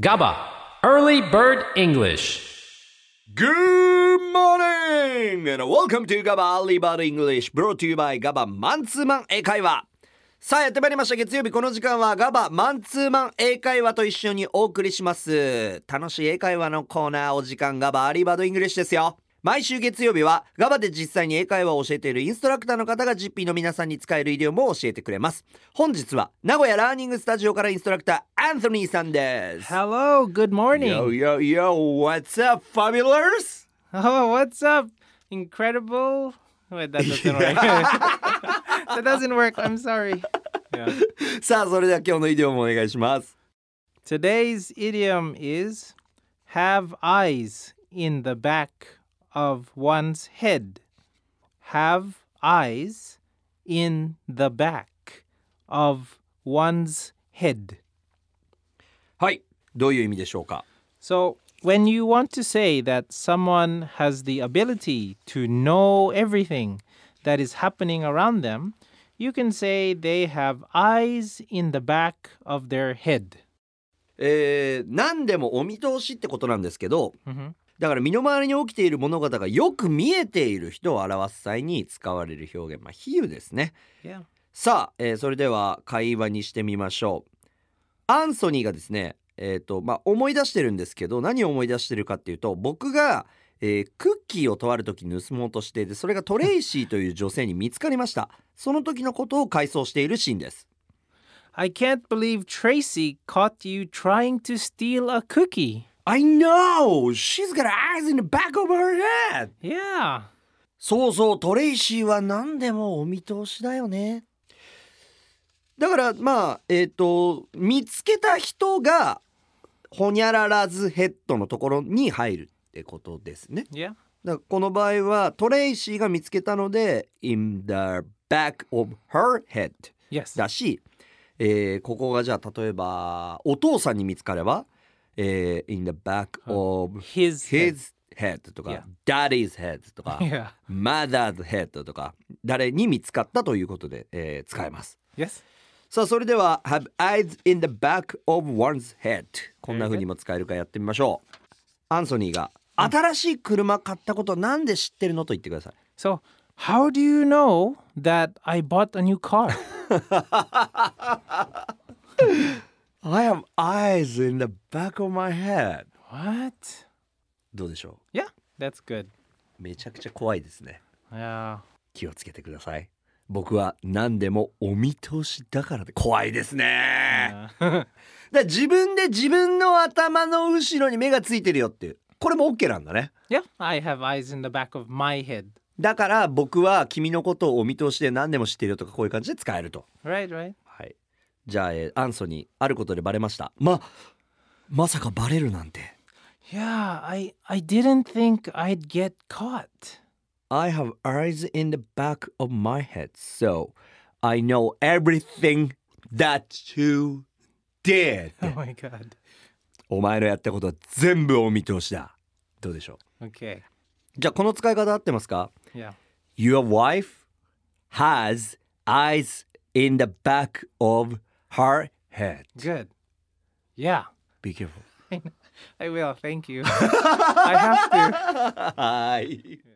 GABA Early Bird English. Good morning and welcome to GABA Early Bird English brought to you by GABA マンツーマン英会話。さあやってまいりました。月曜日この時間は GABA マンツーマン英会話と一緒にお送りします。楽しい英会話のコーナーお時間 GABA Early Bird English ですよ。毎週月曜日は GABA で実際に英会話を教えているインストラクターの方が GP の皆さんに使えるイディオムを教えてくれます。本日は名古屋ラーニングスタジオからインストラクターアンソニーさんです。 Hello, good morning. Yo yo yo, what's up fabulous? Oh, what's up? Incredible. Wait, that doesn't work. That doesn't work. I'm sorry. Yeah. さあそれでは今日のイディオムお願いします。 Today's idiom is have eyes in the back of one's head. Have eyes in the back of one's head. はい、どういう意味でしょうか。 So, when you want to say that someone has the ability to know everything that is happening around them, you can say they have eyes in the back of their head. 何でもお見通しってことなんですけど、 Mhm. だから身の回りに起きている物事がよく見えている人を表す際に使われる表現、比喩ですね。 Yeah. さあ、それでは会話にしてみましょう。アンソニーがですね、思い出してるんですけど、何を思い出してるかっていうと、僕が、クッキーをとある時に盗もうとしていて、それがトレイシーという女性に見つかりました。その時のことを回想しているシーンです。 I can't believe Tracy caught you trying to steal a cookie. I know! She's got eyes in the back of her head! Yeah. そうそう、トレイシーは何でもお見通しだよね。だから見つけた人がホニャララズヘッドのところに入るってことですね。 Yeah. だからこの場合はトレイシーが見つけたので in the back of her head Yes. だし、ここがじゃあ例えばお父さんに見つかれば、in the back of His head とか、 Yeah. daddy's head とか、 Yeah. mother's head とか誰に見つかったということで、使えます。 Yes. さあそれでは have eyes in the back of one's head こんな風にも使えるかやってみましょう。アンソニーが新しい車買ったことなんで知ってるのと言ってください。 So, how do you know that I bought a new car? I have eyes in the back of my head. What? どうでしょ Yeah, that's good. う。めちゃくちゃ怖いですね。 Yeah. 気をつけてください。僕は何でもお見通しだからで怖いですね。だから自分で自分の頭の後ろに目がついてるよっていう、これも OK なんだね。 Yeah, I have eyes in the back of my head. だから僕は君のことをお見通しで何でも知ってるよとかこういう感じで使えると。 Right, right. はい。じゃあ、アンソニーあることでバレました。まさかバレるなんて。 Yeah, I didn't think I'd get caught. I have eyes in the back of my head, so I know everything that you did. Oh my god. お前のやったことは全部お見通しだ。どうでしょう。 Okay. じゃあこの使い方合ってますか？ Yeah. Your wife has eyes in the back of her head. Good. Yeah. Be careful. I will. Thank you. I have to. はい。